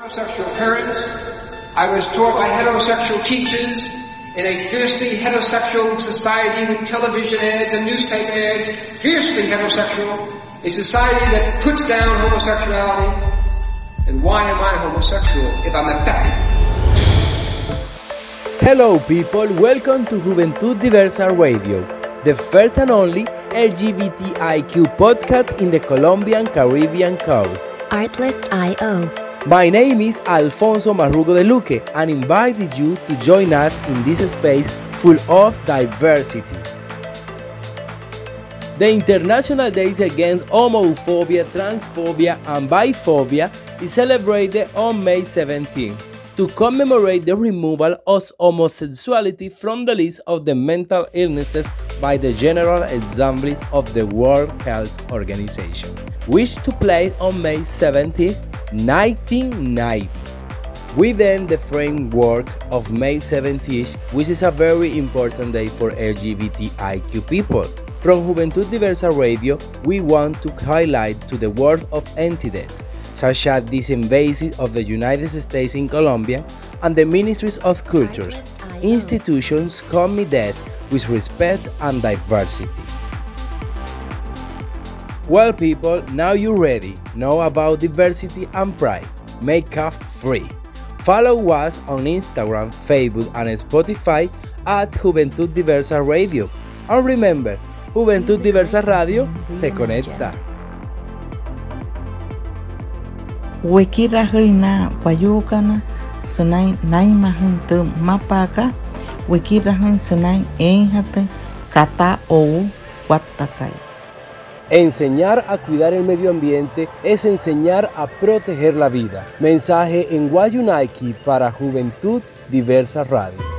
Heterosexual parents. I was taught by heterosexual teachers in a fiercely heterosexual society with television ads and newspaper ads, fiercely heterosexual, a society that puts down homosexuality. And why am I homosexual if I'm affected? Hello people, welcome to Juventud Diversa Radio, the first and only LGBTIQ podcast in the Colombian Caribbean coast. Artlist.io. My name is Alfonso Marrugo de Luque and invited you to join us in this space full of diversity. The International Days Against Homophobia, Transphobia and Biphobia is celebrated on May 17 to commemorate the removal of homosexuality from the list of the mental illnesses by the General Assembly of the World Health Organization, which took place on May 17, 1990. Within the framework of May 17, which is a very important day for LGBTIQ people, from Juventud Diversa Radio, we want to highlight to the world of entities such as this embassy of the United States in Colombia and the Ministries of Cultures, institutions committed with respect and diversity. Well people, now you're ready, know about diversity and pride, make up free. Follow us on Instagram, Facebook and Spotify at Juventud Diversa Radio. And remember, Juventud Diversa Radio te conecta. Wekira na wayukana senai naima hentu mapaka wekira hen senai enjate kata ou watakai. Enseñar a cuidar el medio ambiente es enseñar a proteger la vida. Mensaje en Guayunaiki para Juventud Diversa Radio.